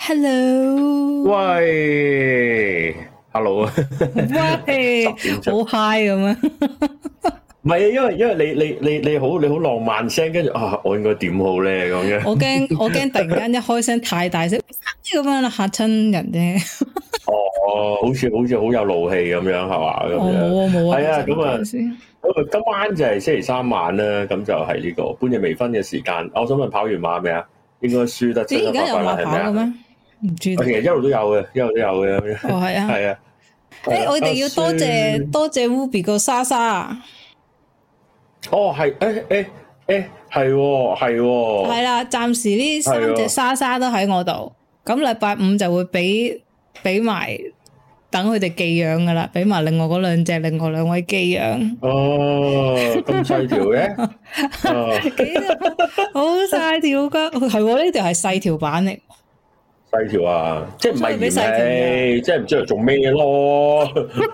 Hello， 喂 ，Hello 啊， 喂，好 high 咁啊！ 唔係啊，因為你好浪漫聲，跟住我應該點好咧咁樣。 我驚突然間一開聲太大聲咁樣啦，嚇親人啫。 哦，好似好有怒氣咁樣係嘛？ 冇啊， 係啊，咁啊，今晚就係星期三晚啦，咁就係呢個半夜微醺嘅時間。我想問跑完馬未啊？應該輸得七七八八啦，係咪啊？唔知道，其實一路都有嘅，一路都有嘅咁樣。 哦，係啊， 係啊。 我哋要多謝 Ruby 個莎莎。 哦，係，係喎。 係啦，暫時呢3隻莎莎都喺我度，咁禮拜5就會俾埋等佢哋寄養噶啦，俾埋另外嗰另外2位寄養。 哦，咁細條嘅， 好細條噶，係喎，呢條係細條版嚟。 細條啊，即係唔係嫌棄，即係唔知嚟做咩咯。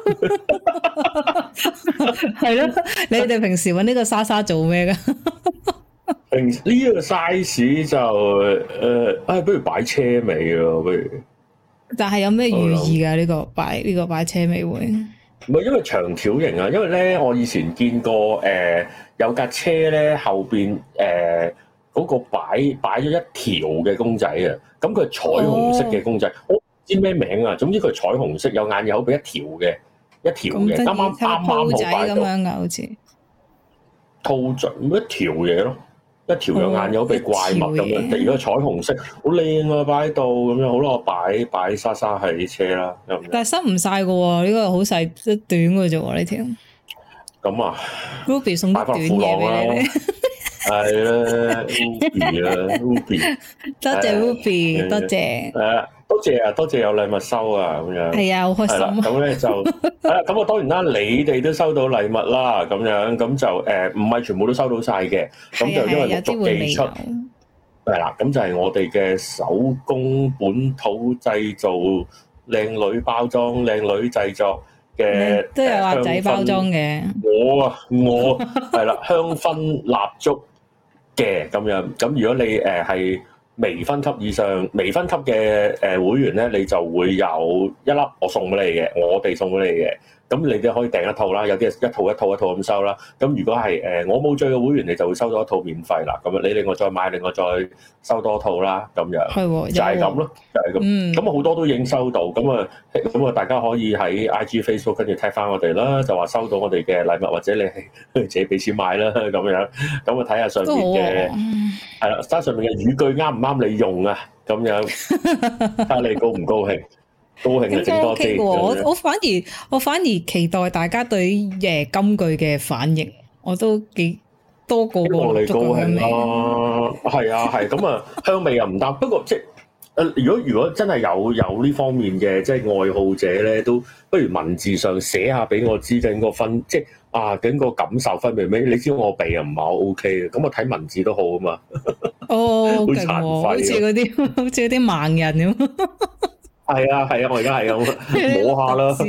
係咯，你哋平時搵呢個莎莎做咩噶？ 平時呢個 size 就不如擺車尾咯，不如。但係有咩寓意噶？呢個擺車尾會？ 唔係因為長條型啊，因為咧我以前見過有架車咧後邊嗰個擺咗一條嘅公仔啊，咁佢係彩虹色嘅公仔，我唔知咩名啊。總之佢係彩虹色，有眼有口，俾一條嘅，啱啱好擺到。咁樣噶，好似兔仔一條嘢咯，一條有眼有口，俾怪物咁樣。如果彩虹色，好靚啊，擺喺度咁樣，好啦，我擺莎莎喺車啦。 但係塞唔晒噶喎，呢個好細，短嘅啫喎，呢條。咁啊 ，Ruby 送啲短嘢俾你。 係啦 ，Ruby 多謝 Ruby，多謝。 多謝有禮物收啊，咁樣。係啊， 好開心啊。 咁咧就咁我當然啦，你哋都收到禮物啦，咁樣咁就唔係全部都收到晒嘅，咁就因為陸續寄出。係啦，咁就係我哋嘅手工本土製造、靚女包裝、靚女製作嘅， 都有阿仔包裝嘅。我係啦，香薰蠟燭嘅咁樣，咁如果你係微分級以上、微分級嘅會員咧，你就會有一粒我送俾你嘅，我哋送俾你嘅。咁你哋可以訂一套啦，有啲係一套咁收啦。咁如果係我冇追嘅會員，你就會收到一套免費啦。咁樣你另外再買，另外再收多套啦。咁樣係就係咁咯，就係咁。咁好多都已經收到。咁啊，大家可以喺 IG、Facebook 跟住 tag 翻我哋啦，就話收到我哋嘅禮物，或者你係自己俾錢買啦。咁樣咁啊，睇下上面嘅係啦，上面嘅語句啱唔啱你用啊？咁樣睇下你高唔高興。高興就整多啲。 我反而期待大家對金句嘅反應，我都幾多個希望你高興啦。係啊，係咁啊，香味又唔得。不過即係如果真係有呢方面嘅即係愛好者咧，都不如文字上寫下俾我知，整個分即係整個感受分別咩？你知我鼻又唔係好 OK 嘅，咁我睇文字都好啊嘛。 好勁喎！好似嗰啲盲人咁。 係啊，我而家係咁摸下啦。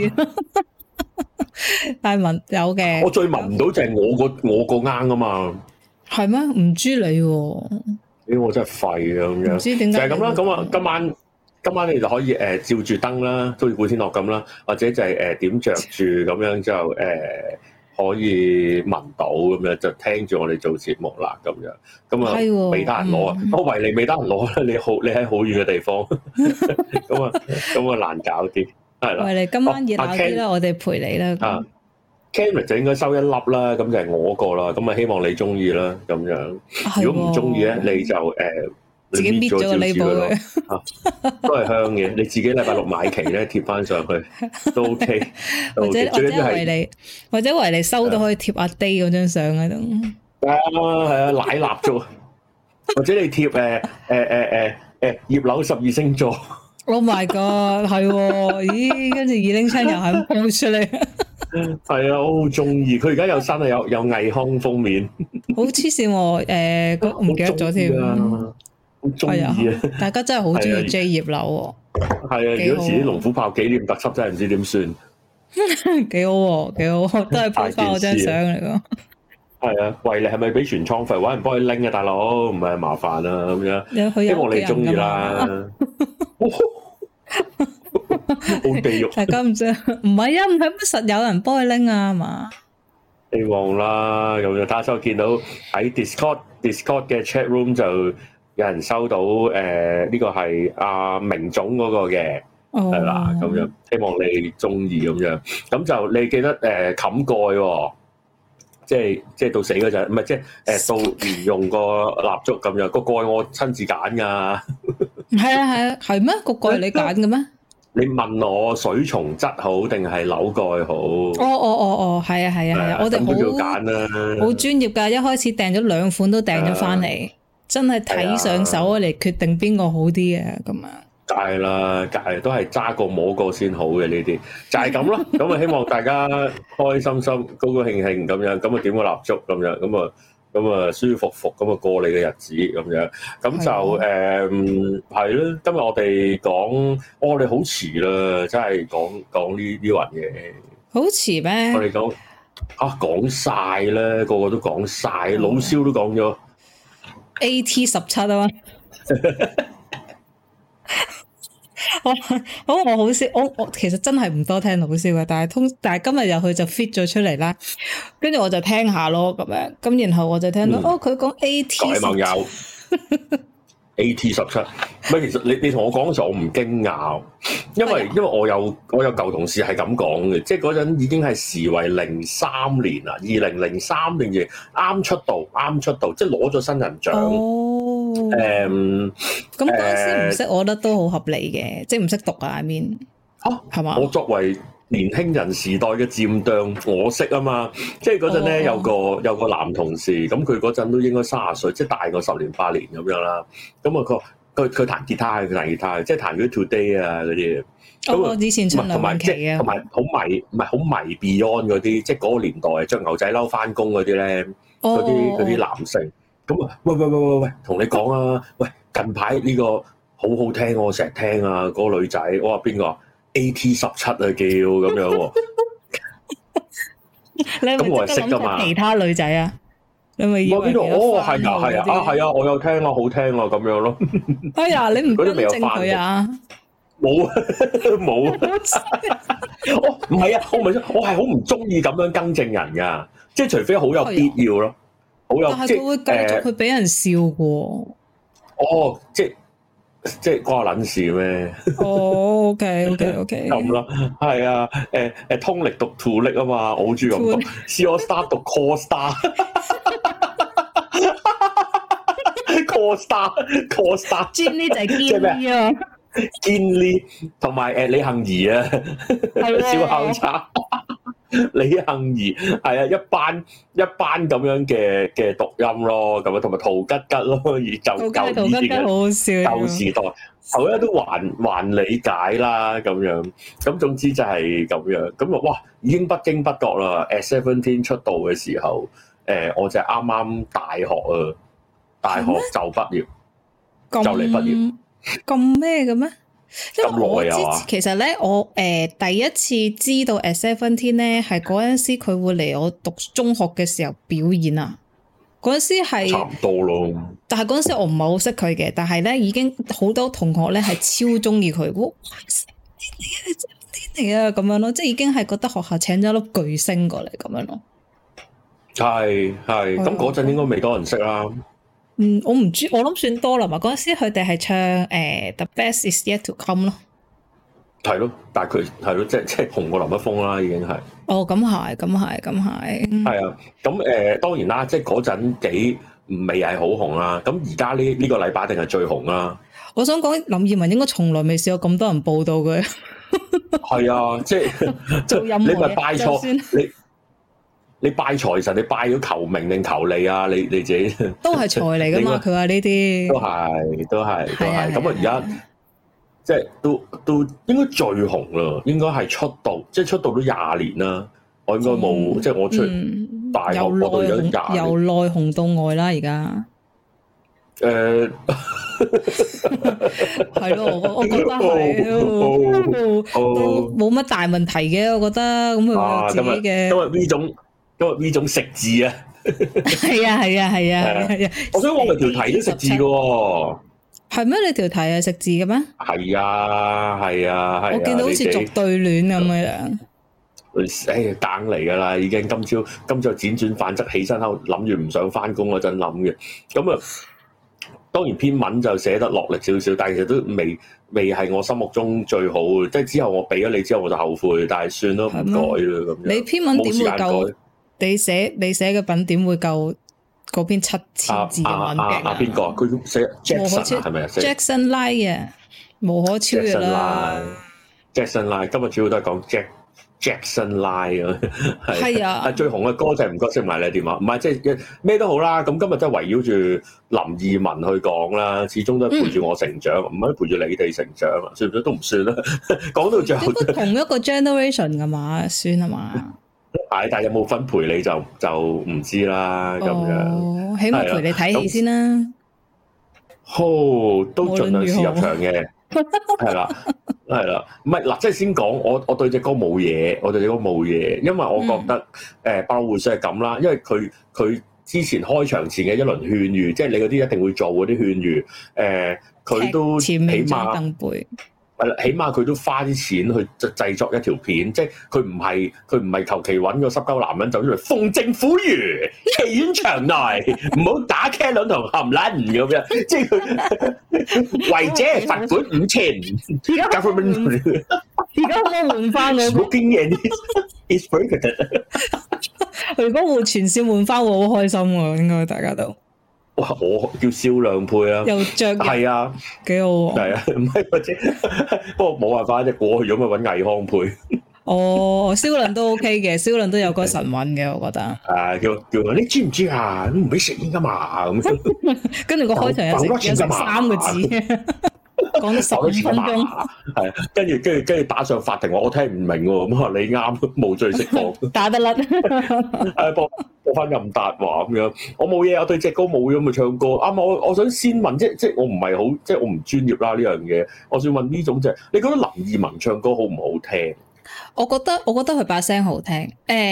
但係聞有嘅， 我最聞唔到就係我個啱啊嘛。 係咩？唔知你喎。 我真係廢啊咁樣。唔知點解就係咁啦。咁啊，今晚你就可以照住燈啦，都好似古天樂咁啦，或者就係點着住咁樣就可以聞到咁樣，就聽住我哋做節目啦咁樣。咁啊，未得閒攞啊！我維尼未得閒攞啦，你喺好遠嘅地方，咁啊難搞啲，係啦。維尼今晚熱鬧啲啦，我哋陪你啦。Kenrick 就應該收一粒啦，咁就係我個啦。咁啊，希望你中意啦，咁樣。如果唔中意咧，你就自己搣咗個 label 都係香嘅。你自己禮拜6買期咧貼翻上去都 OK。或者維尼收到可以貼阿 Day 嗰張相喺度。 係啊，奶蠟燭，或者你貼葉柳12星座。 Oh my god， 係喎，咦？跟住207又係鋪出嚟。 係啊，我好中意。佢而家有新啊，有藝康封面。好黐線喎，唔記得咗添。 好中意啊！ 大家真係好中意 J 葉柳喎。 係啊，如果遲啲龍虎豹紀念特輯真係唔知點算。 幾好喎，幾好，都係鋪翻我張相嚟㗎。 係啊，維尼係咪俾全倉費？搵人幫佢拎啊，大佬，唔係麻煩啊咁樣。希望你中意啦。 好地獄。 大家唔知，唔係啊，唔係乜實有人幫佢拎啊嘛。 希望啦，咁就打手見到喺 Discord 嘅 chat room 就有人收到呢個係阿明總嗰個嘅，係啦，咁樣希望你中意咁樣，咁就你記得冚蓋喎，即係到死嗰陣，唔係即係到連用個蠟燭咁樣，個蓋我親自揀㗎。 係啊，係咩？個蓋係你揀嘅咩？ 你問我水松質好定係扭蓋好？ 哦，係啊，我哋都要揀啦， 好專業㗎，一開始訂咗2款都訂咗翻嚟，真係睇上手嚟決定邊個好啲嘅咁啊！ 梗係啦，都係揸過摸過先好嘅呢啲，就係咁咯。咁啊，希望大家開心心、高高興興咁樣，咁啊點個蠟燭咁樣，咁啊舒服服咁啊過你嘅日子咁樣，咁就係咯。今日我哋講，我哋好遲啦，真係講呢雲嘢。 好遲咩？ 我哋講晒啦，個個都講晒，老蕭都講咗 AT17啊嘛。我好少，我其實真係唔多聽老蕭嘅，但係今日入去就 fit 咗出嚟啦，跟住我就聽下咯咁樣，咁然後我就聽到佢講 AT17。各位網友 ，AT17，唔係其實你同我講嘅時候我唔驚訝，因為我有舊同事係咁講嘅，即係嗰陣已經係時為03年啦，2003年嘅啱出道，即係攞咗新人獎。 咁嗰陣時唔識，我覺得都好合理嘅，即係唔識讀啊 I mean 係嘛？ 我作為年輕人時代嘅漸當，我識啊嘛，即係嗰陣咧有個男同事，咁佢嗰陣都應該30歲，即係大過10年8年咁樣啦。咁啊佢彈吉他，即係彈嗰啲 Today 啊嗰啲。 我以前唱梁詠琪啊， 同埋好迷 Beyond 嗰啲，即係嗰個年代着牛仔褸翻工嗰啲咧，嗰啲男性。咁啊，喂，同你講啊，喂，近排呢個好好聽，我成日聽啊，嗰個女仔，我話邊個？AT17啊，叫咁樣喎。咁我係識噶嘛？ 其他女仔啊，你咪以為邊度？ 係啊，我有聽啊，好聽啊，咁樣咯。 哎呀，你唔跟正佢啊？ 冇，唔係啊，我係好唔中意咁樣更正人噶，即係除非好有必要咯。 但係佢會繼續去俾人笑嘅。 即係關我撚事咩 ？OK。 咁咯，係啊，通力讀 to 力啊嘛，我好中意咁讀。C all star 讀 call star，call star。 堅呢就係堅呢啊， 堅呢同埋李幸儀啊，小校叉。李幸儀係啊，一班咁樣嘅讀音咯，咁啊同埋陶吉吉咯，而就以前嘅舊時代，後咧都還理解啦咁樣，咁總之就係咁樣，咁啊哇已經不經不覺啦。At17 出道嘅時候，我就啱啱大學啊，大學就畢業，就嚟畢業， 咁咩嘅咩？因為我其實咧，我第一次知道 At17咧，係嗰陣時佢會嚟我讀中學嘅時候表演啊。嗰陣時係差唔多咯， 但係嗰陣時我唔係好識佢嘅，但係咧已經好多同學咧係超中意佢，哇！天嚟啊咁樣咯，即係已經係覺得學校請咗粒巨星過嚟咁樣咯。 係，咁嗰陣應該未多人識啦。 我唔知，我諗算多啦嘛。嗰陣時佢哋係唱The Best Is Yet To Come 咯，係咯，但係佢係咯，即係紅過林一峰啦，已經係。 哦，咁係。 係啊，咁當然啦，即係嗰陣幾未係好紅啦。咁而家呢個禮拜定係最紅啦。 我想講林二汶應該從來未試過咁多人報道佢。 係啊，即係你咪拜錯你拜財神，你拜咗求名定求利啊？你自己都係財嚟噶嘛？佢話呢啲都係。咁啊，而家即係都應該最紅啦，應該係出道，即係出道都20年啦。我應該冇，即係我出大學嗰度有20年， 由內紅到外啦，而家。係咯，我覺得係都冇乜大問題嘅，我覺得咁佢自己嘅。 因為呢種食字啊， 係啊， 我想我咪條題都食字嘅喎。 係咩？你條題係食字嘅咩？ 係啊，我見到好似作對聯咁樣。 誒，梗嚟噶啦，已經今朝輾轉反側起身後諗住唔想翻工嗰陣諗嘅，咁啊，當然篇文就寫得落力少少，但係其實都未係我心目中最好嘅，即係之後我俾咗你之後我就後悔，但係算咯，唔改啦咁樣。你篇文點會夠？你寫嘅品點會夠嗰篇7000字嘅文嘅？ 邊個？佢寫 Jackson 係咪啊 ？Jackson Lie 啊，無可超越啦。 Jackson Lie 今日主要都係講Jackson Lie 啊，係啊，最紅嘅歌就係唔該識埋你電話，唔係即係咩都好啦。咁今日都係圍繞住林二汶去講啦，始終都係陪住我成長，唔係陪住你哋成長啊，算唔算都唔算啦。講到最後， 同一個 generation 噶嘛，算啊嘛。 係，但係有冇分陪你就唔知啦。咁樣， 起碼陪你睇戲先啦。 好，都盡量試入場嘅，係啦。係啦，唔係嗱，即係先講我對隻歌冇嘢，因為我覺得百老匯算係咁啦，因為佢之前開場前嘅一輪勸喻，即係你嗰啲一定會做嗰啲勸喻，佢都起碼佢都花啲錢去製作一條片，即係佢唔係求其揾個濕鳩男人走出嚟奉政府諭，戲院場內唔好打茄輪同含撚咁樣，即係佢違者罰款5000。而家可唔可以換翻我？Smoking is prohibited。 如果換全線換翻，我好開心喎，應該大家都。 哇！我叫銷量配啊， 又着係啊， 幾好喎。 係啊，唔係或者不過冇辦法啫，過去咗咪揾倪匡配。 哦，銷量都 OK 嘅，銷量都有個神韻嘅，我覺得。 叫你知唔知啊？唔俾食煙噶嘛咁。 跟住個開場有食3個字。講咗15分鐘， 係跟住打上法庭，我聽唔明喎，咁話你啱，無罪釋放， 打得甩， 播翻任達華咁樣，我冇嘢，我對隻歌冇嘢，咪唱歌。啱我想先問，即我唔係好，即我唔專業啦呢樣嘢，我想問呢種就係，你覺得林二汶唱歌好唔好聽？ 我覺得佢把聲好聽，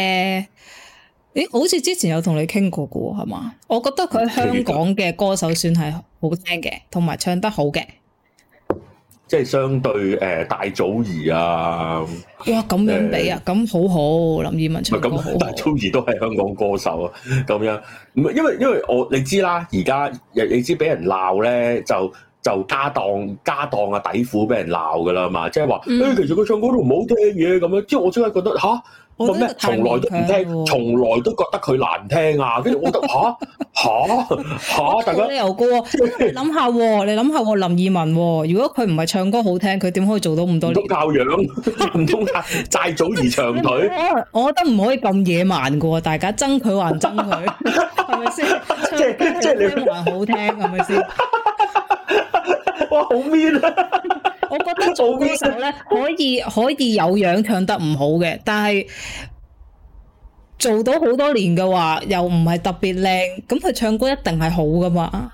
好似之前有同你傾過嘅喎，係嘛？我覺得佢香港嘅歌手算係好聽嘅，同埋唱得好嘅。 即係相對大祖兒啊， 哇咁樣比啊，咁好好，林二汶唱歌好好。 大祖兒都係香港歌手啊，咁樣唔係因為你知啦，而家你知俾人鬧咧，就家當啊底褲俾人鬧噶啦嘛，即係話其實佢唱歌都唔好聽嘅咁樣，即係我真係覺得吓。個咩？從來都唔聽，從來都覺得佢難聽啊！跟住我覺得大家你又高啊！你諗下，林二汶，如果佢唔係唱歌好聽，佢點可以做到咁多年？ 唔通靠樣？唔通靠債祖兒長腿？ 我覺得唔可以咁野蠻噶喎，大家憎佢還憎佢，係咪先？即係你還好聽，係咪先？ 哇，好 mean 啊！ 我覺得做歌手咧可以有樣唱得唔好嘅，但係做到好多年嘅話，又唔係特別靚，咁佢唱歌一定係好噶嘛。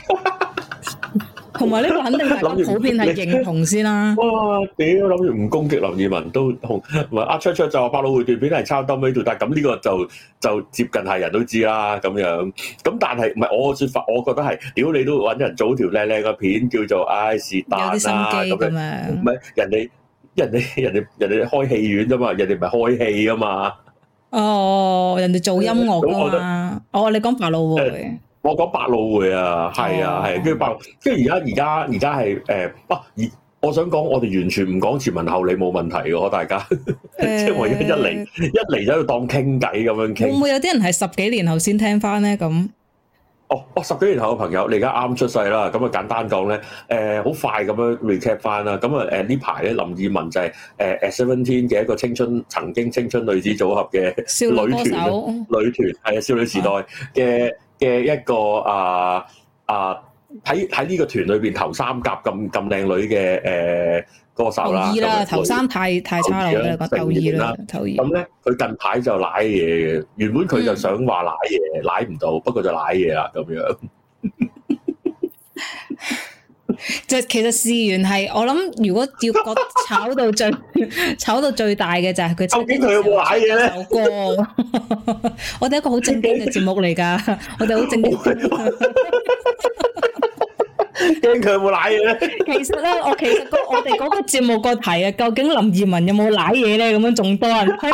同埋呢個肯定係普遍係認同先啦。 哇！屌，諗住唔攻擊林二汶都同，唔係阿卓就話百老匯段片係抄兜尾度，但係咁呢個就接近係人都知啦咁樣。咁但係唔係我嘅説法，我覺得係屌你都揾人做條靚靚嘅片，叫做是但啦咁樣。唔係人哋開戲院啫嘛，人哋唔係開戲啊嘛。 哦，人哋做音樂㗎嘛。哦，你講百老匯。 我講百老匯啊，係啊，係，跟住而家係我想講，我哋完全唔講前文後理冇問題嘅，大家，即係我一嚟就喺度當傾偈咁樣傾。會唔會有啲人係10幾年後先聽翻咧？咁 10幾年後嘅朋友，你而家啱出世啦，咁啊簡單講咧，好快咁樣 recap 翻啦。咁啊呢排咧林二汶就係Seventeen 嘅一個曾經青春女子組合嘅女團係啊，少女時代嘅一個喺呢個團裏邊頭3甲咁靚女嘅歌手啦。頭2啦， 頭3太差啦，頭2啦，頭2。咁咧佢近排就舐嘢嘅，原本佢就想話舐嘢，舐唔到，不過就舐嘢啦咁樣。 就其實事源係，我諗如果要炒到最大嘅就係佢。 究竟佢有冇舐嘢咧？ 首歌，我哋一個好正經嘅節目嚟㗎，我哋好正經。 驚佢有冇瀨嘢咧？ 其實咧，我哋嗰個節目個題啊，究竟林二汶有冇瀨嘢咧？咁樣仲多人睇。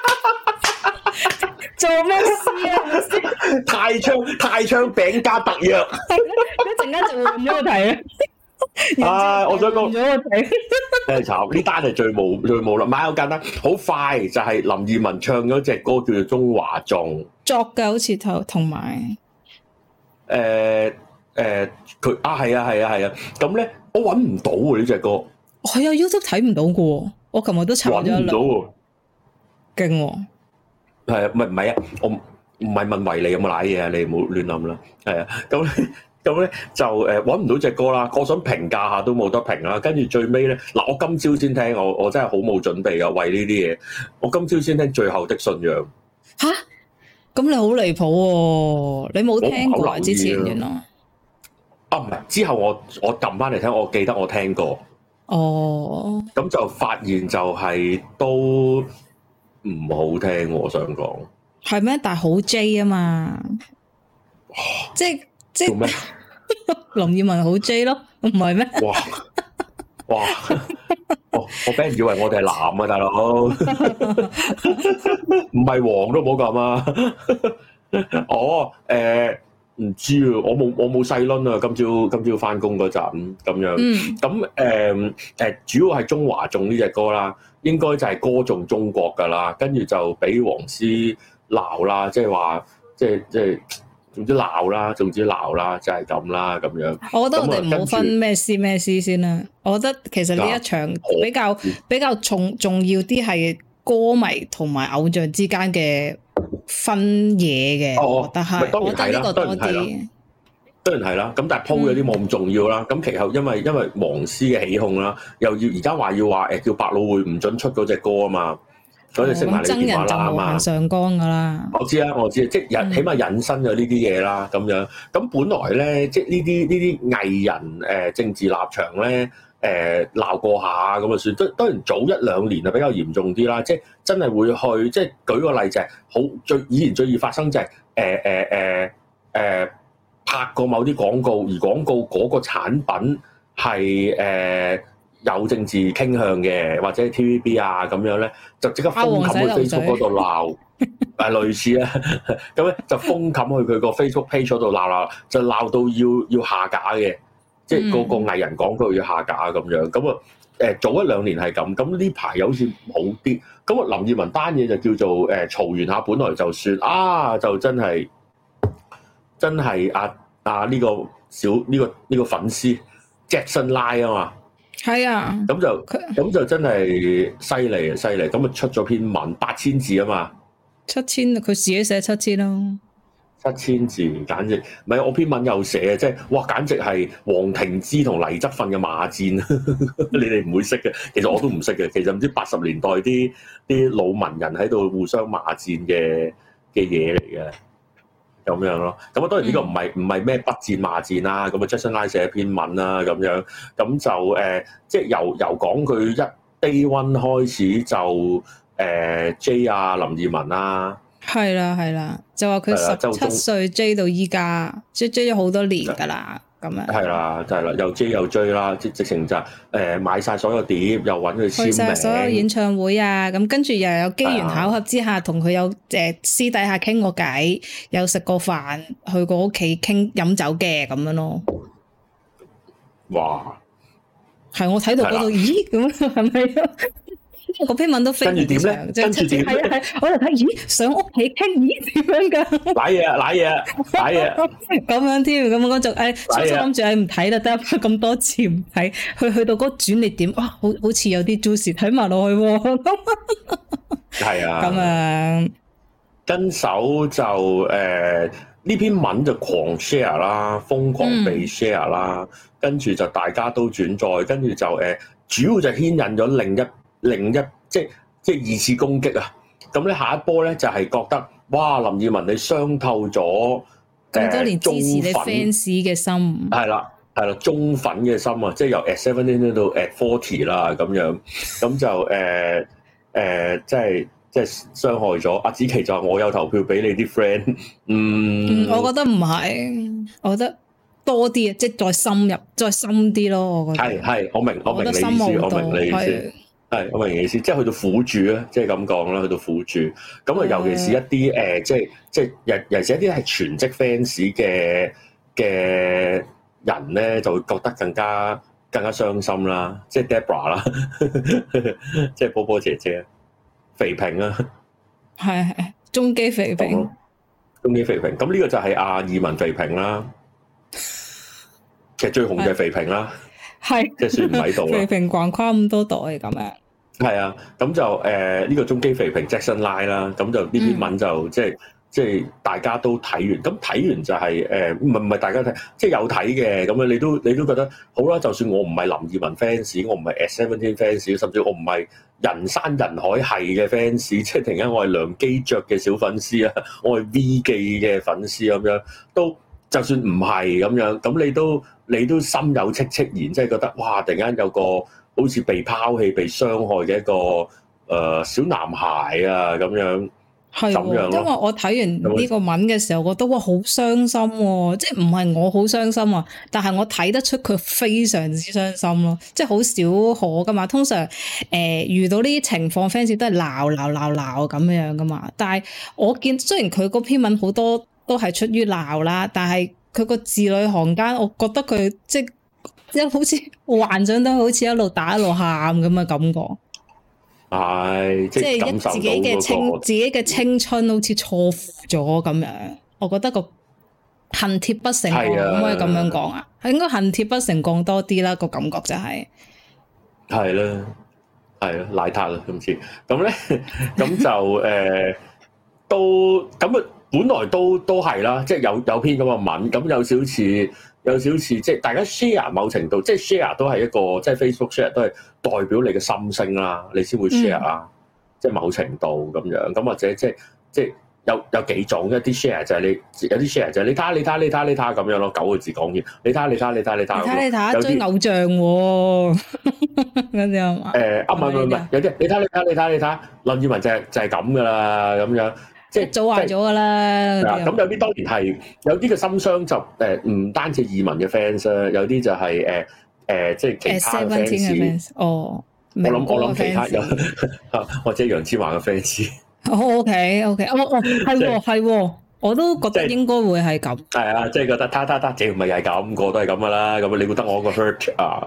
做咩事啊？ 太昌餅加特約， 一陣間就會換咗個題啊！ 我想講換咗個題， 真係慘。呢單係最冇啦，買好簡單，好快就係林二汶唱咗隻歌叫做《中華頌》， 作嘅好似同埋佢係啊，咁咧我搵唔到喎呢隻歌， 係啊 YouTube 睇唔到嘅，我琴日都查咗一輪，搵唔到喎，勁喎。 係啊，唔係啊，我唔係問維尼有冇瀨嘢啊，你唔好亂諗啦。係啊，咁咧就搵唔到隻歌啦，我想評價下都冇得評啦。跟住最尾咧，嗱我今朝先聽，我真係好冇準備啊，為呢啲嘢，我今朝先聽最後的信仰。 吓，咁你好離譜喎！你冇聽過之前原來唔係，之後我撳翻嚟聽，我記得我聽過。 哦， 咁就發現就係都唔好聽，我想講係咩？但係好 J 啊嘛，即做咩？ 林二汶好 J 咯，唔係咩？ 哇！我俾人以為我哋係男啊，大佬，唔係黃都唔好咁啊！唔知啊，我冇細輪啊，今朝翻工嗰陣咁樣，咁主要係中華頌呢隻歌啦，應該就係歌頌中國噶啦，跟住就俾黃絲鬧啦，即係話即係總之鬧啦，就係咁啦咁樣。 我覺得我哋唔好分咩絲先啦，我覺得其實呢一場比較重要啲係歌迷同埋偶像之間嘅分嘢嘅，我覺得係，我覺得呢個多啲。 當然係啦，咁但係鋪嗰啲冇咁重要啦。咁其後因為黃絲嘅起哄啦，又要而家話叫百老匯唔准出嗰隻歌啊嘛，所以食埋你電話啦嘛。上綱噶啦，我知啊，即係起碼引申咗呢啲嘢啦，咁樣。咁本來咧，即係呢啲藝人政治立場咧。鬧過下咁啊算，當然早一兩年啊比較嚴重啲啦，即係真係會去，即係舉個例就係以前最易發生就係拍過某啲廣告，而廣告嗰個產品係有政治傾向嘅，或者 TVB 啊咁樣咧，就即刻封冚去 Facebook 嗰度鬧，類似啦，咁咧就封冚去佢個 Facebook page 嗰度鬧，就鬧到要下架嘅。即係個藝人講佢要下架咁樣，咁啊早一兩年係咁，咁呢排又好似好啲，咁啊林二汶單嘢就叫做嘈完下，本來就算啊，就真係呢個粉絲 Jackson Lie 啊嘛，係啊，咁就真係犀利，咁啊出咗篇文8000字啊嘛，7000佢自己寫7000咯。7000字，簡直唔係我篇文又寫啊！即係哇，簡直係黃庭之同黎則奮嘅罵戰，你哋唔會識嘅，其實我都唔識嘅。其實唔知80年代啲老文人喺度互相罵戰嘅嘢嚟嘅，咁樣咯。咁啊，當然呢個唔係咩不戰罵戰啦。咁啊，Jackson Lie 寫一篇文啦，咁樣咁就即係由講佢一 day one 開始就J 啊林二汶啦。係啦，就話佢17歲追到依家，追咗好多年噶啦，咁樣。係啦，又追又追啦，直情就買晒所有碟，又搵佢簽名，去晒所有演唱會啊，咁跟住又有機緣巧合之下，同佢有私底下傾過偈，有食過飯，去過屋企傾飲酒嘅咁樣咯。哇！係我睇到嗰度，咦？咁係咪？嗰篇文都非常之長，跟住點咧？係，我就睇，咦，上屋企傾，咦，點樣噶？瀨嘢，咁樣添，咁我就初初諗住唔睇啦，得咁多次唔睇，去到嗰轉捩點，哇，好似有啲 juicy，睇埋落去喎。係啊，咁樣跟手就呢篇文就狂 share 啦，瘋狂被 share 啦，跟住就大家都轉載，跟住就主要就牽引咗另一即係二次攻擊啊！咁咧下一波咧就係覺得哇林二汶你傷透咗咁多年支持你 fans 嘅心，係啦忠粉嘅心啊！即係由 at 17到 at 40啦咁樣，咁就即係傷害咗阿子琪就話我有投票俾你啲 friend，我覺得唔係，我覺得多啲，即係再深入、再深啲咯。我覺得係，我明你意思，我明你意思。係，我明你意思，即係去到苦主啊，即係咁講啦，去到苦主。咁啊，尤其是一啲即係尤其是一啲係全職 fans 嘅人咧，就會覺得更加傷心啦。即係 Debra 啦，即係波波姐姐、肥平啦， 係中基肥平， 中基肥平。咁呢個就係阿爾文肥平啦。其實最紅嘅係肥平啦，係即係算唔喺度啦。肥平橫跨咁多代咁樣。 係啊，咁就呢個中基肥平 Jackson Lie 啦，咁就呢篇文就即係大家都睇完，咁睇完就係唔係大家睇，即係有睇嘅咁樣，你都覺得好啦。就算我唔係林二汶 fans，我唔係 S17 fans，甚至我唔係人山人海係嘅 fans，即係突然間我係梁基爵嘅小粉絲啊，我係 V 記嘅粉絲咁樣，都就算唔係咁樣，咁你都心有戚戚然，即係覺得哇！突然間有個好似被拋棄、被傷害嘅一個小男孩啊咁樣，係咁樣咯。 因為我睇完呢個文嘅時候，我覺得哇好傷心喎，即係唔係我好傷心啊，但係我睇得出佢非常之傷心咯，即係好少可噶嘛。通常遇到呢啲情況，fans 都係鬧咁樣噶嘛。但係我見雖然佢嗰篇文好多都係出於鬧啦，但係佢個字裏行間，我覺得佢即係好似幻想到好似一路打一路喊咁嘅感覺， 係即係感受到自己嘅青春好似錯付咗咁樣。我覺得個恨鐵不成鋼，可唔可以咁樣講啊？係應該恨鐵不成鋼多啲啦，個感覺就係啦，賴塔啦今次咁咧，咁就都咁啊，本來都係啦，即係有篇咁嘅文，咁有少似即係大家 share 某程度，即係 share 都係一個即係 Facebook share 都係代表你嘅心聲啦，你先會 share 啊，即係某程度咁樣，咁或者即係有幾種，一啲 share 就係有啲 share 就係你睇下咁樣咯，9個字講完，你睇下追偶像喎，嗰啲係嘛？ 唔係，有啲你睇，林二汶就係咁噶啦，咁樣。即係早壞咗噶啦，咁有啲當然係有啲嘅心傷就唔單止二汶嘅 fans 啦，有啲就係即係其他嘅 fans。哦，我諗其他有或者楊千嬅嘅 fans。OK， 係，我都覺得應該會係咁。 係啊，即係覺得他，這唔係又係咁，個都係咁噶啦。咁你覺得我個 hurt 啊？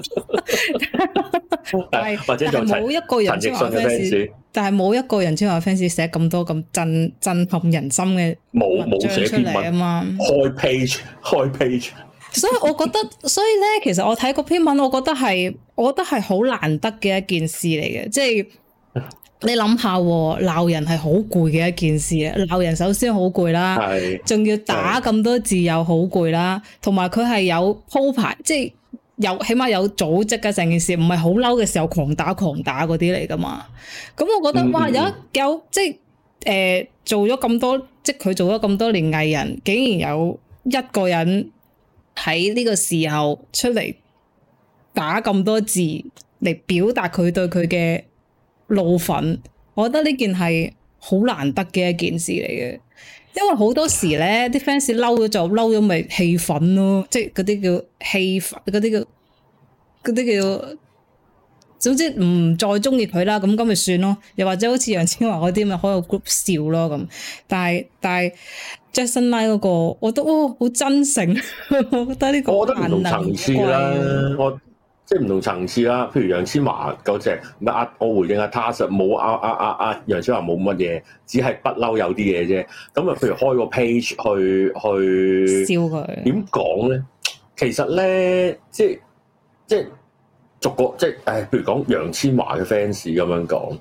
或者就冇一個人千嬅嘅 fans，但係冇一個人千嬅 fans 寫咁多咁震撼人心嘅文章出嚟啊嘛！ 開 page， 所以我覺得，咧，其實我睇嗰篇文，我覺得係好難得嘅一件事嚟嘅，即係。你諗下，鬧人係好攰嘅一件事啊！鬧人首先好攰啦，仲要打咁多字又好攰啦，同埋佢係有鋪排，即係起碼有組織嘅成件事，唔係好嬲嘅時候狂打嗰啲嚟噶嘛。咁我覺得哇，有即係做咗咁多，即係佢做咗咁多年藝人，竟然有一個人喺呢個時候出嚟打咁多字嚟表達佢對佢嘅怒憤，我覺得呢件係好難得嘅一件事嚟嘅，因為好多時咧，啲 fans 嬲咗就嬲咗，咪氣憤咯，即係嗰啲叫氣憤，嗰啲叫，總之唔再中意佢啦，咁咪算咯。又或者好似楊千嬅嗰啲咪開個 group 笑咯咁。但係 Jackson Lie 嗰個，我覺得好真誠，我覺得呢個我覺得唔同層次啦，即係唔同層次啦，譬如楊千嬅嗰隻，我回應下他實冇楊千嬅冇乜嘢，只係不嬲有啲嘢啫。咁啊，譬如開個 page 去笑佢， 點講咧？其實咧，即係逐個即係譬如講楊千嬅嘅 fans 咁樣講，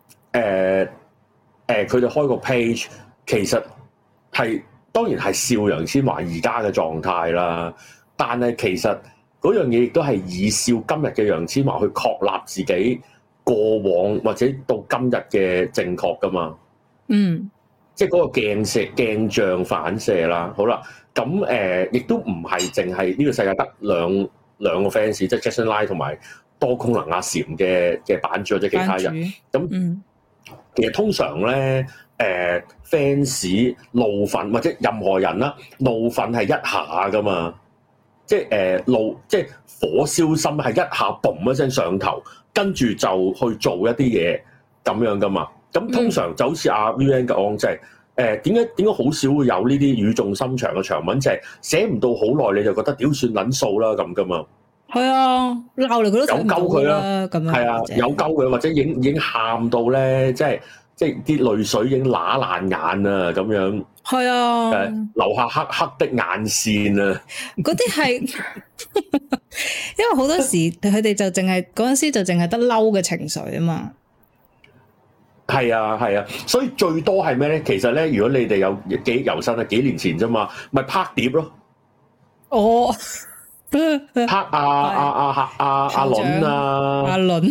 佢哋開個 page，其實係當然係笑楊千嬅而家嘅狀態啦，但係其實。嗰樣嘢亦都係以笑今日嘅楊千嬅去確立自己過往或者到今日嘅正確噶嘛？即係嗰個鏡像反射啦。好啦，咁亦都唔係淨係呢個世界得兩個 fans，即係 Jackson Lie 同埋多功能阿禪嘅版主或者其他人。咁其實通常咧fans 怒憤或者任何人啦，怒憤係一下噶嘛。 即係即係火燒心，係一下嘣一聲上頭，跟住就去做一啲嘢咁樣噶嘛。咁通常就好似阿 VN 講，即係點解好少會有呢啲語重心長嘅長文，就係寫唔到好耐你就覺得屌算撚數啦咁噶嘛。係啊，鬧嚟佢都有鳩佢啦，咁樣係啊，有鳩佢或者已經喊到咧，即係啲淚水已經乸爛眼啊咁樣。係啊，留下黑黑的眼線啊！ 嗰啲係，因為好多時佢哋就淨係嗰陣時就淨係得嬲嘅情緒啊嘛。 係啊係啊，所以最多係咩咧？其實咧，如果你哋有記憶猶新啊，幾年前啫嘛，咪拍碟咯。哦，拍阿倫啊，阿倫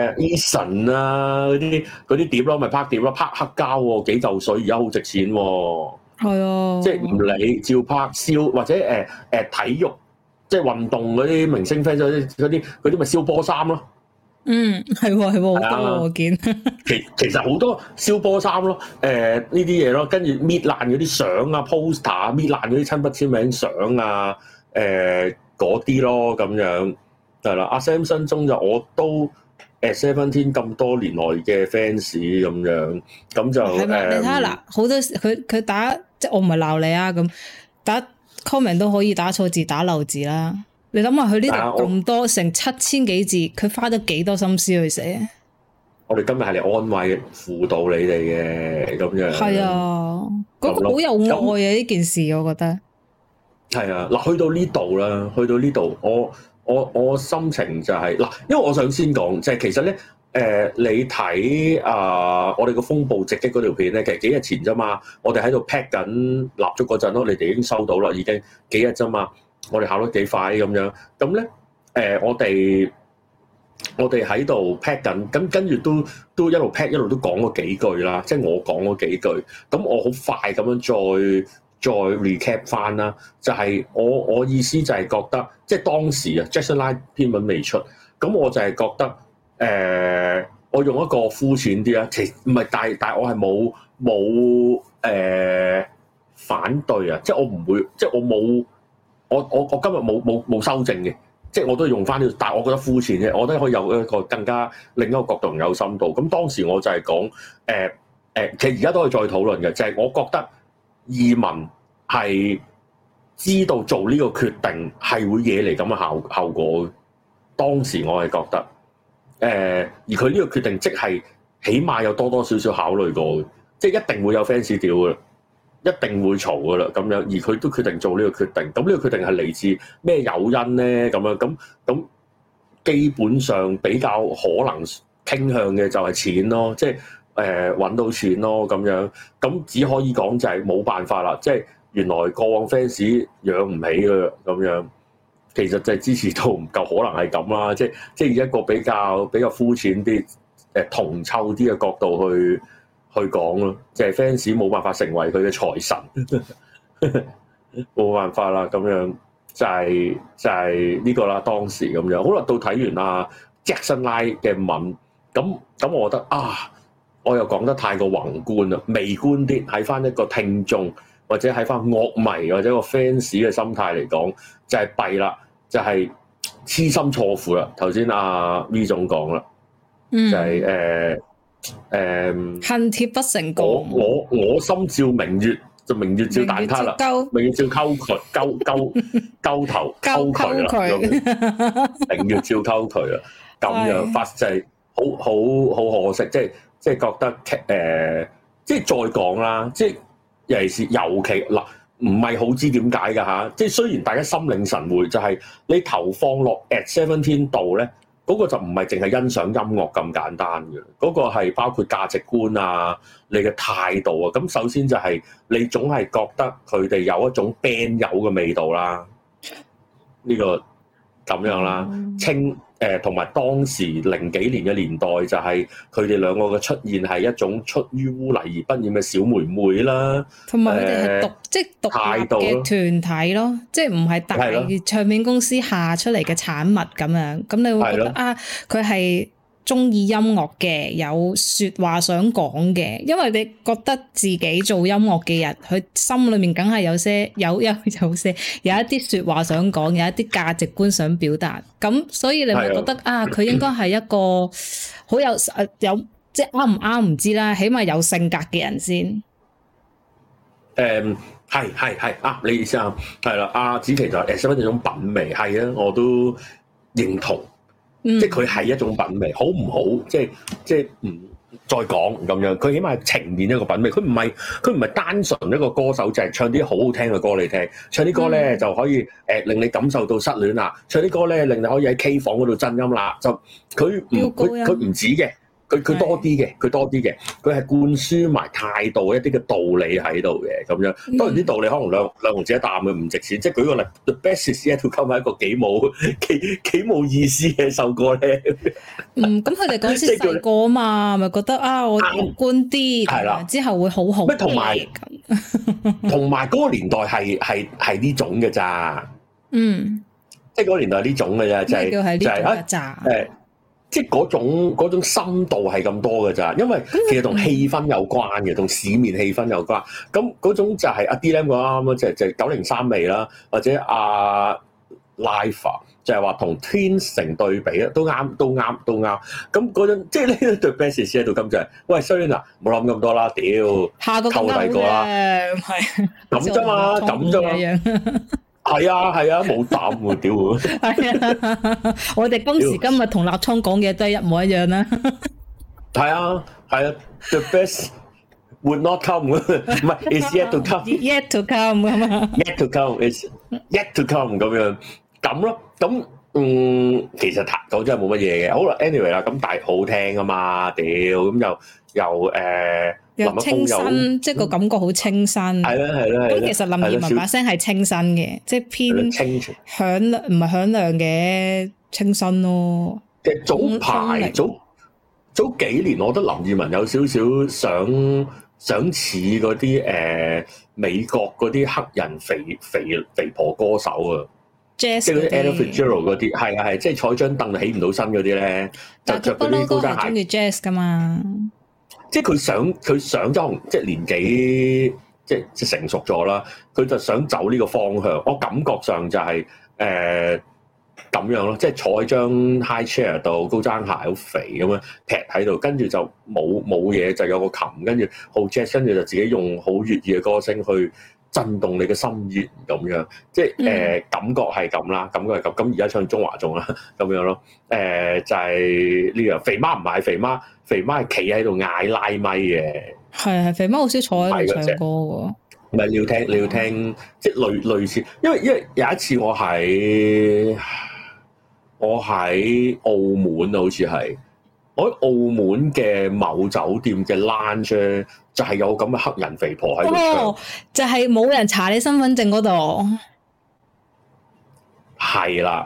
Eason 啊嗰啲碟咯，咪拍碟咯，拍黑膠喎，幾嚿水而家好值錢喎。係啊，即係唔理照拍燒或者體育即係運動嗰啲明星 fans 嗰啲咪燒波衫咯。 係好多我見。 其實好多燒波衫咯，呢啲嘢咯，跟住搣爛嗰啲相啊 poster， 搣爛嗰啲親筆簽名相啊，嗰啲咯咁樣係啦。阿 Sam 新中就我都Seventeen 咁多年來嘅 fans 咁樣，咁就係咪？你睇下嗱，好多佢打即係我唔係鬧你啊，咁打 comment 都可以打錯字打漏字啦。你諗下佢呢度咁多成7000幾字，佢花咗幾多心思去寫？我哋今日係嚟安慰輔導你哋嘅咁樣。係啊，嗰個好有愛啊！呢件事我覺得係啊。嗱，去到呢度啦，去到呢度，我心情就係嗱，因為我想先講，就係其實咧，你睇我哋個風暴直擊嗰條片咧，其實幾日前啫嘛，我哋喺度 pack 緊蠟燭嗰陣咯，你哋已經收到啦，已經幾日啫嘛。我哋考得幾快咁樣，咁咧我哋喺度 pack 緊，咁跟住都一路 pack 一路都講咗幾句啦，即係我講咗幾句，咁我好快咁樣再 recap 翻啦，就係我意思就係覺得，即係當時啊 Jackson Line 篇文未出，咁我就係覺得我用一個膚淺啲啊，其實唔係，但係我係冇反對啊，即係我唔會，即係我冇。我今日冇修正嘅，即係我都用翻呢個，但係我覺得膚淺啫，我覺得可以有一個更加另一個角度有深度。咁當時我就係講其實而家都可以再討論嘅，就係我覺得移民係知道做呢個決定係會惹嚟咁嘅效果。當時我係覺得而佢呢個決定即係起碼有多少少考慮過嘅，即係一定會有 fans 屌嘅。一定會嘈噶啦，咁樣而佢都決定做呢個決定，咁呢個決定係嚟自咩誘因咧？咁樣咁基本上比較可能傾向嘅就係錢咯，即係揾到錢咯，咁樣咁只可以講就係冇辦法啦，即係原來過往 fans 養唔起㗎咁樣，其實就係支持度唔夠，可能係咁啦，即係以一個比較膚淺啲銅臭啲嘅角度去講咯，就係 fans 冇辦法成為佢嘅財神，冇辦法啦，咁樣就係呢個啦。當時咁樣，好啦，到睇完阿 Jackson Line 嘅文，咁我覺得我又講得太過宏觀啦，微觀啲，喺翻一個聽眾或者喺翻樂迷或者個 fans 嘅心態嚟講，就係弊啦，就係痴心錯付啦。頭先阿 V 總講啦，就係恨鐵不成鋼， 我心照明月，就明月照蛋撻啦，明月照溝渠，溝頭溝渠啦，明月照溝渠啦，咁樣發就係好可惜，即係覺得即係再講啦，即係尤其是嗱，唔係好知點解㗎嚇，即係雖然大家心領神會，就係你投放落 at17度咧。嗰個就唔係淨係欣賞音樂咁簡單嘅，嗰個係包括價值觀啊，你嘅態度啊。咁首先就係你總係覺得佢哋有一種 band 友嘅味道啦，呢個咁樣啦，同埋當時00幾年嘅年代就係佢哋兩個嘅出現係一種出於污泥而不染嘅小妹妹啦，同埋佢哋係即係獨立嘅團體咯，即係唔係大唱片公司下出嚟嘅產物咁樣，咁你會覺得佢係中意音樂嘅，有說話想講嘅，因為你覺得自己做音樂嘅人，佢心裏面梗係有一啲說話想講，有一啲價值觀想表達，咁所以你咪覺得啊，佢應該係一個好有即係啱唔啱唔知啦，起碼有性格嘅人先。 係啊，你意思啊，係啦，阿子琪就係一種品味，係啊，我都認同。即係佢係一種品味，好唔好？即係唔再講咁樣，佢起碼係呈現一個品味。佢唔係單純一個歌手，就係唱啲好好聽嘅歌你聽，唱啲歌咧就可以令你感受到失戀啦，唱啲歌咧令你可以喺 K 房嗰度震音啦。就佢唔止嘅。佢多啲嘅，佢係灌輸埋態度一啲嘅道理喺度嘅咁樣。當然啲道理可能兩毫子一啖嘅唔值錢。即係舉個例 ，The Best Is Yet To Come係一個幾冇意思嘅首歌咧。咁佢哋嗰時細個啊嘛，咪覺得啊，我樂觀啲，係啦，之後會好好。同埋嗰個年代係呢種嘅咋？即係嗰個年代呢種嘅咋，就係即係嗰種深度係咁多嘅咋，因為其實同氣氛有關嘅，同市面氣氛有關。咁嗰種就係阿 D-Lam 講啱啦，就係903味啦，或者阿 Live 就係話同 Twins 成對比啊，都啱。咁嗰種即係呢一對 best 喺度咁就係，喂衰嗱，冇諗咁多啦，屌，下個溝第二個啦，係咁啫嘛，係啊，冇膽喎，屌！係啊，我哋今時今日同立倉講嘅都係一模一樣啦。係啊 ，The best would not come， 唔係 is yet to come，yet to come 咁啊 ，yet to come is yet to come 咁樣咁咯。咁其實講真係冇乜嘢嘅。好啦 ，anyway 啦，咁但係好聽啊嘛，屌咁又清新，即係個感覺好清新。係啦。咁其實林二汶把聲係清新嘅，即係偏響亮，唔係響亮嘅清新咯。即係早幾年，我覺得林二汶有少少想似嗰啲美國嗰啲黑人肥婆歌手啊，即係嗰啲 Ella Fitzgerald 嗰啲，係即係坐張凳起唔到身嗰啲咧，就着嗰啲高踭鞋。中意 jazz 噶嘛？即係佢想即係年紀即係成熟咗啦，佢就想走呢個方向。我感覺上就係咁樣咯，即係坐喺張 high chair 度，高踭鞋好肥咁樣劈喺度，跟住就冇嘢，就有個琴，跟住好 jazz，跟住就自己用好粵語嘅歌聲去震動你嘅心弦咁樣，即係感覺係咁啦，感覺係咁。咁而家唱中華頌啦，咁樣咯。就係呢樣。肥媽唔係肥媽係企喺度嗌拉咪嘅。係肥媽好少坐喺度唱歌喎。唔係你要聽，即係類似，因為有一次我喺澳門啊，好似係我喺澳門嘅某酒店嘅 lounge。就係有咁嘅黑人肥婆喺度唱，就係冇人查你身份證嗰度，係啦，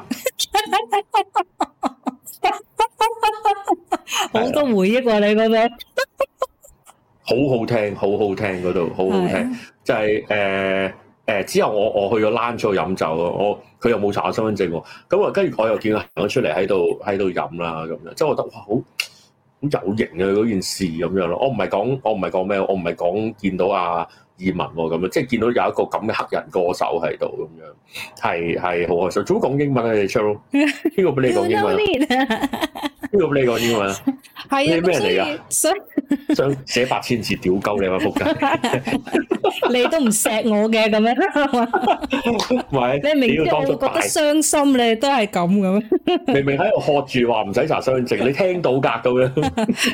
好多回憶喎，你覺得？好好聽嗰度，好好聽，就係之後我去咗 lounge 度飲酒咯，佢又冇查我身份證喎，咁啊跟住我又見佢行咗出嚟喺度飲啦咁樣，即係我覺得哇好有型嘅嗰件事咁樣咯，我唔係講咩，我唔係講見到阿二汶咁樣，即係見到有一個咁嘅黑人歌手喺度咁樣，係好開心。做乜講英文啊？你 Cheryl 邊個俾你講英文？邊個俾你講英文啊？係你咩人嚟㗎？想寫8000字屌鳩你啊！仆街！你都唔錫我嘅咁樣，唔係你明知我會覺得傷心，你都係咁嘅咩？明明喺度喝住話唔使查身份證，你聽到㗎咁樣。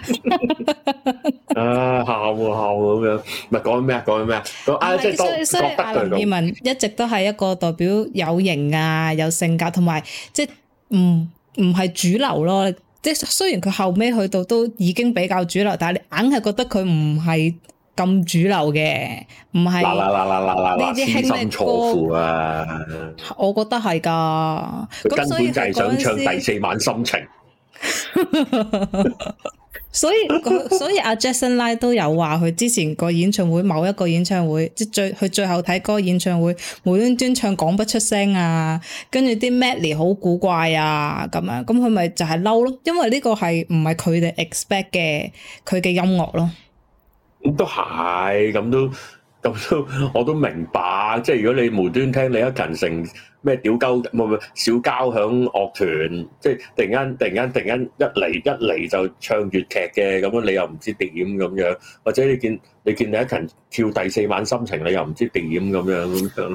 啊喊咁樣，唔係講緊咩啊？講緊咩啊？即係覺得佢林二汶一直都係一個代表有型啊、有性格，同埋即係唔係主流咯。即係雖然佢後尾去到都已經比較主流，但係你硬係覺得佢唔係咁主流嘅，唔係呢啲輕力歌啊！我覺得係㗎，佢根本就係想唱第4晚心情。 所以阿 Jackson Lie 都有話佢之前個演唱會某一個演唱會，即係佢最後睇嗰個演唱會，無端端唱講不出聲啊，跟住啲 medley 好古怪啊咁樣，咁佢咪就係嬲咯，因為呢個係唔係佢哋 expect 嘅佢嘅音樂咯。 咁都係，咁都我都明白，即係如果你無端聽李克勤成咩屌鳩唔小交響樂團，即係突然間一嚟就唱粵劇嘅，咁樣你又唔知點咁樣，或者你見李克勤跳第四晚心情，你又唔知點咁樣。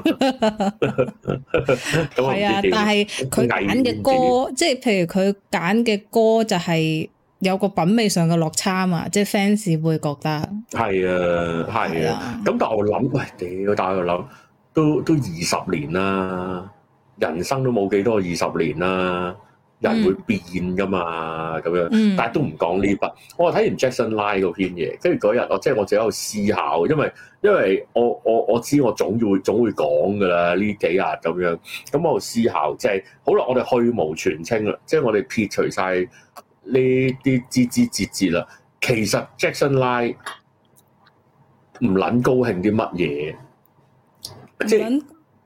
係啊，但係佢揀嘅歌，即係譬如佢揀嘅歌就係有個品味上嘅落差嘛，即係 fans 會覺得係啊。咁但係我諗，喂屌！但係我諗都20年啦，人生都冇幾多20年啦，人會變噶嘛咁樣。但係都唔講呢筆。我睇完 Jackson Lie 嗰篇嘢，跟住嗰日我自己喺度思考，因為我知我總會講噶啦呢幾日咁樣。咁我喺度思考，即係好啦，我哋去蕪存菁啦，即係我哋撇除晒呢啲枝節節啦，其實 Jackson Lie 唔撚高興啲乜嘢，即係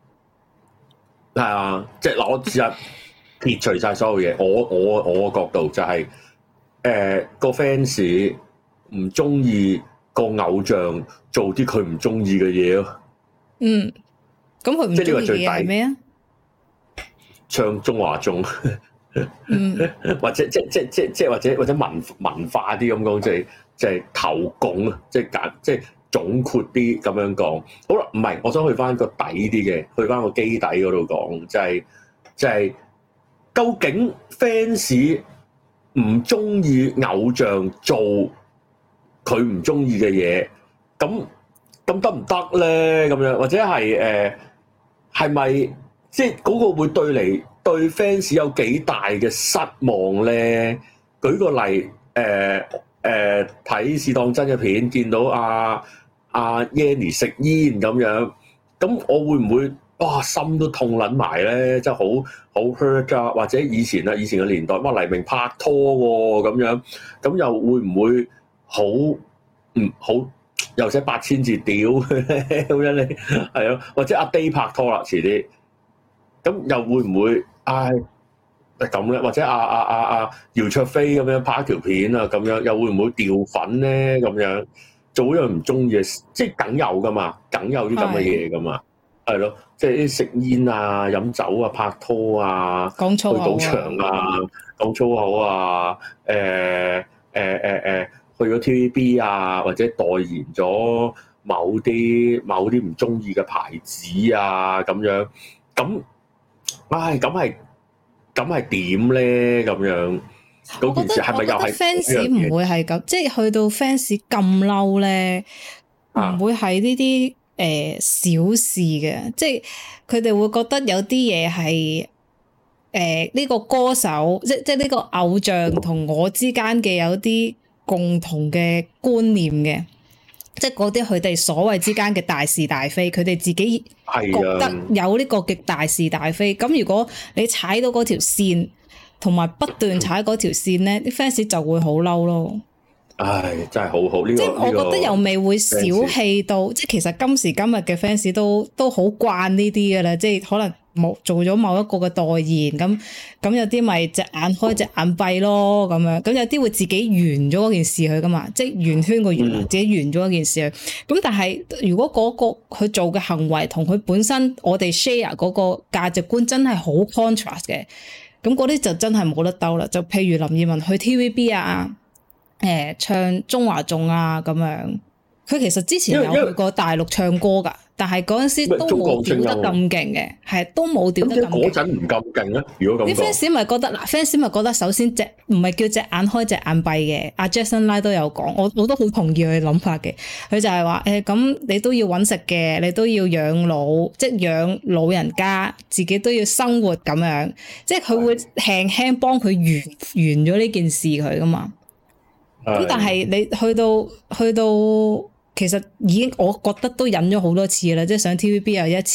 啊，即係嗱，我試下撇除晒所有嘢，我個角度就係個 fans 唔中意個偶像做啲佢唔中意嘅嘢咯。 咁佢唔中意嘅係咩啊？ 唱中華頌。或者或者文化啲咁講，即係投共啊，即係總括啲咁樣講。好啦，唔係，我想去翻個底啲嘅，去翻個基底嗰度講，就係究竟 fans 唔中意偶像做佢唔中意嘅嘢，咁得唔得咧？咁樣或者係咪即係嗰個會對 fans 有幾大嘅失望咧？舉個例，睇試當真嘅片，見到阿 Yanny 食煙咁樣，咁我會唔會哇心都痛撚埋咧？真係好 hurt 啊！或者以前嘅年代，乜黎明拍拖喎咁樣，咁又會唔會好又寫8000字屌咁樣你係咯？或者阿 Day 拍拖啦，遲啲。咁又會唔會咁咧？或者姚焯菲咁樣拍一條片啊，咁樣又會唔會掉粉咧？咁樣做一樣唔中意嘅，即係梗有噶嘛，梗有啲咁嘅嘢噶嘛，係咯，即係啲食煙啊、飲酒啊、拍拖啊、 講粗口啊、 去賭場啊、講粗口啊、去咗 TVB 啊，或者代言咗某啲唔中意嘅牌子啊，咁樣咁。咁係點咧？咁樣嗰件事係咪又係 fans 唔會係咁？即係去到 fans 咁嬲咧，唔會係呢啲小事嘅。即係佢哋會覺得有啲嘢係呢個歌手，即係呢個偶像同我之間嘅有啲共同嘅觀念嘅。即係嗰啲佢哋所謂之間嘅大是大非，佢哋自己覺得有呢個嘅大是大非。咁如果你踩到嗰條線，同埋不斷踩嗰條線咧，啲 fans 就會好嬲咯。唉， 真係好好呢個。即係我覺得又未會小氣到，即係其實今時今日嘅 fans 都好慣呢啲噶啦，即係可能做咗某一個嘅代言，咁有啲咪隻眼開隻眼閉咯咁樣，咁有啲會自己圓咗嗰件事去噶嘛，即係圓圈個圓，自己圓咗嗰件事去。咁但係如果嗰個佢做嘅行為同佢本身我哋 share 嗰個價值觀真係好 contrast 嘅，咁嗰啲就真係冇得鬥啦。就譬如林二汶去 TVB 啊，唱中華頌啊咁樣，佢其實之前有去過大陸唱歌㗎，但係嗰陣時都冇屌得咁勁嘅，係都冇屌得咁勁。 嗰陣唔咁勁咧，如果咁講，啲 fans 咪覺得嗱 ，fans 咪覺得首先唔係叫隻眼開隻眼閉嘅。阿 Jackson Lie 都有講，我都好同意佢嘅諗法嘅。佢就係話咁你都要揾食嘅，你都要養老，即係養老人家，自己都要生活咁樣，即係佢會輕輕幫佢完咗呢件事佢噶嘛。咁但係你去到，其實已經我覺得都忍咗好多次啦，即係上 TVB 又一次，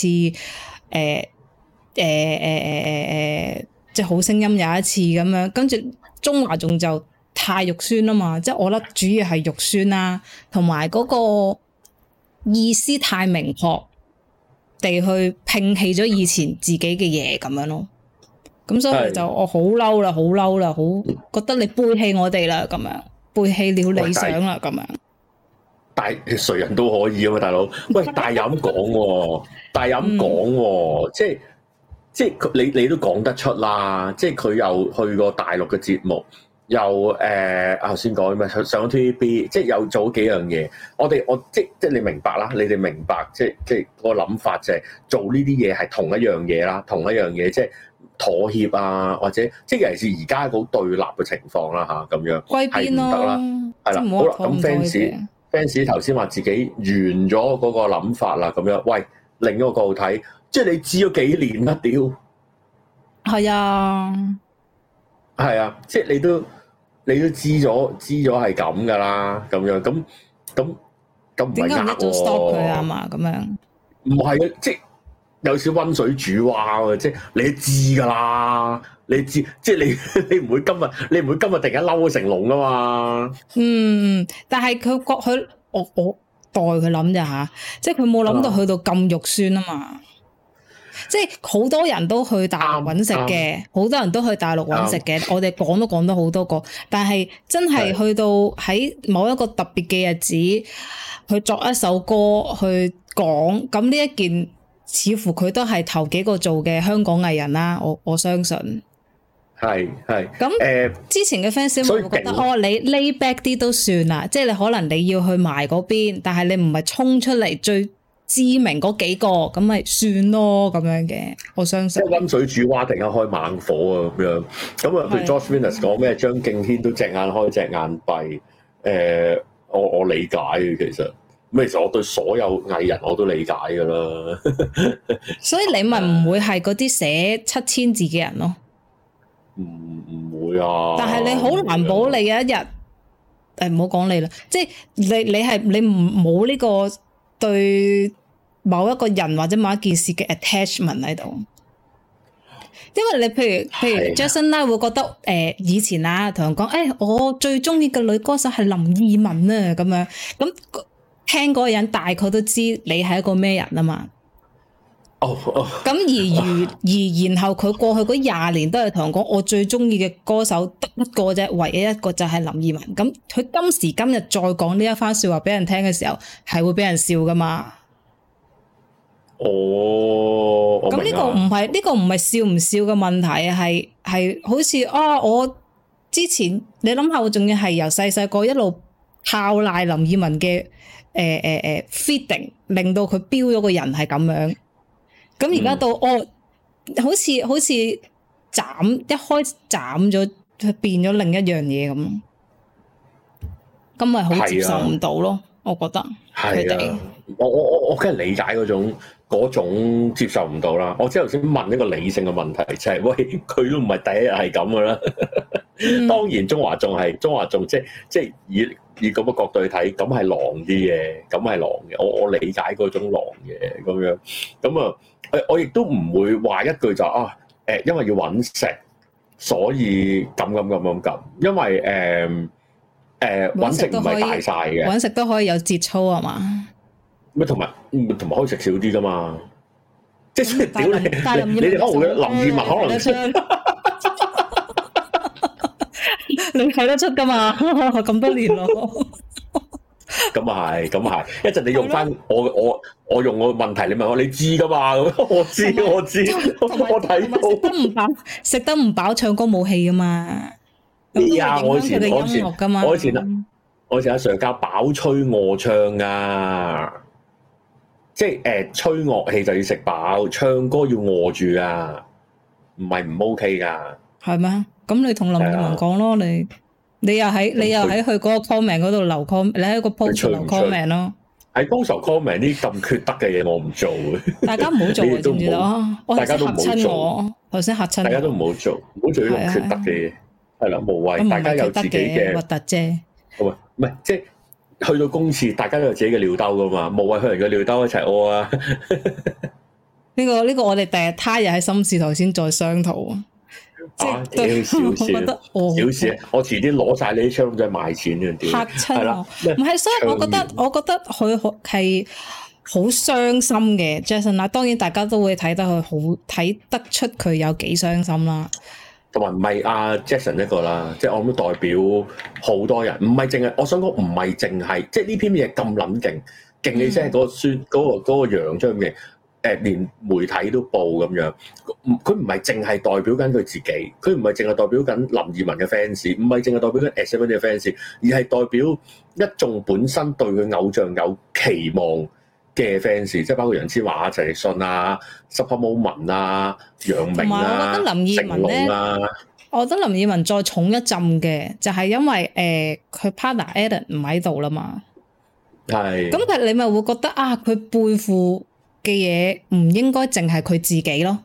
即係好聲音有一次咁樣，跟住中華頌就太肉酸啊嘛，即係我覺得主要係肉酸啦，同埋嗰個意思太明確地去摒棄咗以前自己嘅嘢咁樣咯。咁所以就我好嬲啦，好嬲啦，好覺得你背棄我哋啦，咁樣背棄了理想啦，咁樣。 但係誰人都可以啊嘛，大佬。喂，但係又咁講喎，但係又咁講喎，即係你都講得出啦。即係佢又去過大陸嘅節目，又頭先講咩上咗 TVB， 即係又做幾樣嘢。我即係你明白啦，你哋明白即係個諗法就係做呢啲嘢係同一樣嘢啦，同一樣嘢即係。妥協啊，或者即係尤其是而家好對立嘅情況啦嚇，咁樣係唔得啦，係啦，好啦，咁 fans 頭先話自己完咗嗰個諗法啦，咁樣，喂，另一個角度睇，即係你知咗幾年啦，屌，係啊，即係你都知咗係咁噶啦，咁樣，咁唔係呃喎 stop 佢啊嘛，咁樣， 唔係啊，即係。有少溫水煮蛙喎，即係你都知㗎啦，你知即係你唔會今日突然間嬲成龍啊嘛。 但係我代佢諗咋吓，即係佢冇諗到去到咁肉酸啊嘛。即係好多人都去大陸揾食嘅，好多人都去大陸揾食嘅。我哋講都講咗好多個，但係真係去到喺某一個特別嘅日子去作一首歌去講，咁呢一件。似乎佢都係頭幾個做嘅香港藝人啦，我相信係咁。之前嘅 fans 會覺得你 lay back 啲都算啦，即係你可能你要去埋嗰邊，但係你唔係衝出嚟最知名嗰幾個，咁咪算咯咁樣嘅。我相信即係溫水煮蛙，突然間開猛火啊咁樣。咁啊，譬如 Josh Venus 講咩，張敬軒都隻眼開隻眼閉。我理解嘅其實。咁其實我對所有藝人我都理解噶啦， 所以你咪唔會係嗰啲寫7000字嘅人咯？ 唔會啊！ 但係你好難保你有一日，唔好講你啦，即係你冇呢個對某一個人或者某一件事嘅 attachment 喺度，因為你譬如 Jason Lau 會覺得以前啊同人講我最中意嘅女歌手係林二汶啊咁樣咁。聽嗰個人大概都知你係一個咩人啊嘛。咁而然後佢過去嗰20年都係同人講，我最中意嘅歌手得一個啫，唯一一個就係林二汶。咁佢今時今日再講呢一番說話俾人聽嘅時候，係會俾人笑噶嘛？咁呢個唔係笑唔笑嘅問題，係好似我之前你諗下，我仲要係由細個一路靠賴林二汶嘅。feeding 令到佢標咗個人係咁樣，咁而家到好似一開斬咗，變咗另一樣嘢咁，咁咪好接受唔到咯？我覺得佢哋， 我梗係理解嗰種接受唔到啦。我之後先問一個理性嘅問題，就係喂，佢都唔係第一日係咁噶啦。當然中華仲即係以咁嘅角度去睇，咁係狼啲嘅，咁係狼嘅。我理解嗰種狼嘅咁樣，咁啊，我亦都唔會話一句就因為要揾食，所以咁，因為揾食唔係大晒嘅， 揾食都可以有節操係嘛？咩同埋可以食少啲噶嘛？即係屌你哋可能會林二汶可能食。 你睇得出噶嘛？咁多年咯， 咁啊係，一陣你用翻我用我問題，你問我，你知噶嘛？我知，我睇到。食得唔飽，唱歌冇戲噶嘛？我以前阿 Sir 教飽吹餓唱噶，即係吹樂器就要食飽，唱歌要餓住啊，唔係唔 OK 噶。係咩？ 咁你同林二汶講咯，你又喺佢嗰個 comment 嗰度留 comment，你喺個 post 留 comment 咯。 喺 post comment 啲咁缺德嘅嘢，我唔做嘅。 大家唔好做，知唔知道？ 大家都唔好做。 頭先嚇親我。 大家都唔好做，唔好做呢種缺德嘅嘢。係啦，無謂。大家有自己嘅核突啫。 唔係，即係去到公廁，大家都有自己嘅尿兜噶嘛，無謂去人嘅尿兜一齊屙啊！呢個我哋第日他日喺心事台先再商討。 對， 小事， 我覺得小事，我遲啲攞晒你啲槍仔賣錢嘅， 嚇親我。唔係，所以我覺得佢係好傷心嘅 Jackson 啦。當然大家都會睇得出佢有幾傷心啦。 同埋唔係阿 Jackson 一個啦，即係我諗代表好多人，唔係淨係我想講，唔係淨係即係呢篇嘢咁撚勁，勁起聲嗰個孫嗰個樣出嘅。連媒體都報咁樣，佢唔係淨係代表緊佢自己，佢唔係淨係代表緊林二汶嘅 fans，唔係淨係代表緊 ASAP 嘅 fans，而係代表一眾本身對佢偶像有期望嘅 fans，即係包括楊千嬅啊、陳奕迅啊、Super Moment 啊、楊明啊、成龍啊。 我覺得林二汶再重一浸嘅，就係因為佢 partner Allen 唔喺度啦嘛。係。咁你咪會覺得啊，佢背負嘅嘢唔應該淨係佢自己咯，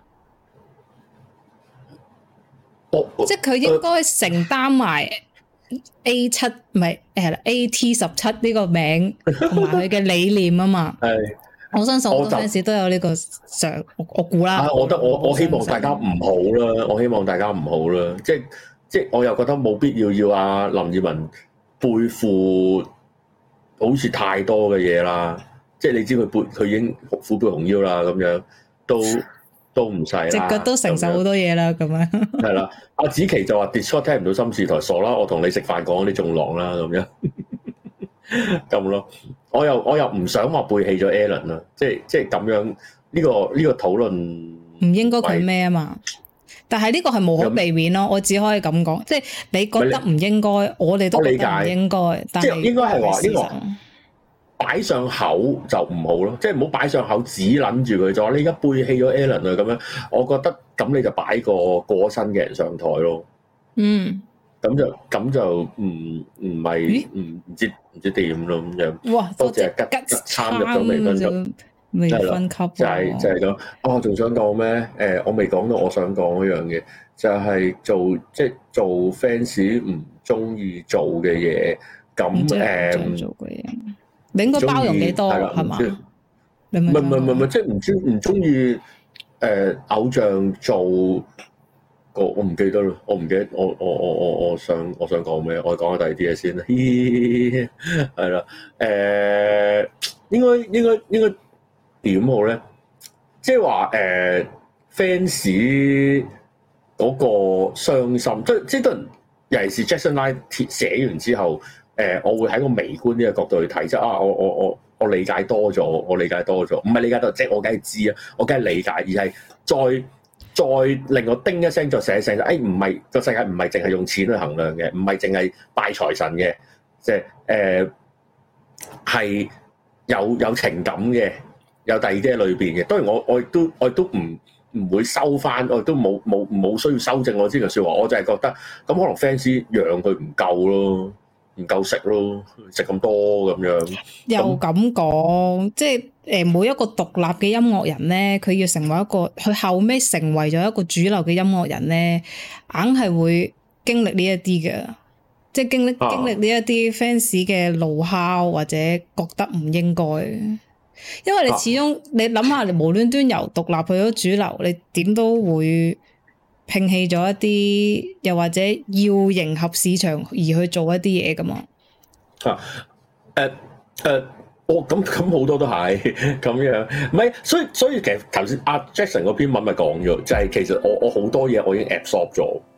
即係佢應該承擔埋 A7 唔係AT17呢個名同埋佢嘅理念啊嘛。係，我相信好多 fans 都有呢個想，我估啦。 我覺得我希望大家唔好啦，我希望大家唔好啦，即係我又覺得冇必要阿林二汶背負好似太多嘅嘢啦。即係你知佢已經虎背熊腰啦，咁樣都唔使啦，隻腳都承受好多嘢啦，咁樣係啦。阿子琪就話 Discord 聽唔到心事台，傻啦！我同你食飯講啲仲狼啦，咁樣咁咯。我又唔想話背棄咗 Allen 啦，即係咁樣呢個討論唔應該佢咩啊嘛？但係呢個係無可避免咯，我只可以咁講，即係你覺得唔應該，我哋都覺得唔應該，但係應該係話呢個。擺上口就唔好咯，即係唔好擺上口只諗住佢就話你而家背棄咗 Allen 啊咁樣，我覺得咁你就擺個過身嘅人上台咯。嗯，咁就唔係唔知點咯咁樣。哇！多謝吉參入咗微分級，就係咁。我仲想講咩？我未講到我想講嗰樣嘢，就係做 fans 唔中意做嘅嘢，咁做嘅嘢。你應該包容幾多係嘛？唔係， 即係唔中意偶像做個，我唔記得啦，我唔記得我想講咩？我講下第二啲嘢先啦。係啦，應該點好咧？即係話fans 嗰個傷心，即係都尤其是 Jackson Line 寫完之後。我會喺個微觀呢個角度去睇，即係我理解多咗，唔係理解多，即係我梗係知啊，我梗係理解，而係再令我叮一聲，再寫一聲，唔係個世界唔係淨係用錢去衡量嘅，唔係淨係拜財神嘅，即係係有情感嘅，有第二啲喺裏邊嘅。當然我亦都唔會收翻，我亦都冇需要修正我呢句説話，我就係覺得咁可能 fans 養佢唔夠咯。唔夠食咯，食咁多咁樣。 又咁講，即係每一個獨立嘅音樂人咧，佢要成為一個，佢後尾成為咗一個主流嘅音樂人咧，硬係會經歷呢一啲嘅，即係經歷呢一啲 fans 嘅怒哮或者覺得唔應該。因為你始終你諗下，你無端端由獨立去咗主流，你點都會摒棄咗一啲，又或者要迎合市場而去做一啲嘢噶嘛？ 咁好多都係咁樣，唔係，所以其實頭先阿 Jackson 嗰篇文咪講咗，就係其實我好多嘢我已經 absorb 咗，